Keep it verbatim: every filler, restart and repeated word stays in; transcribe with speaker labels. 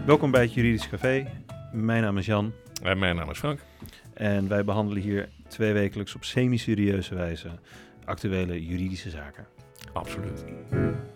Speaker 1: Welkom bij het Juridisch Café. Mijn naam is Jan.
Speaker 2: En mijn naam is Frank.
Speaker 1: En wij behandelen hier twee wekelijks op semi-serieuze wijze actuele juridische zaken.
Speaker 2: Absoluut.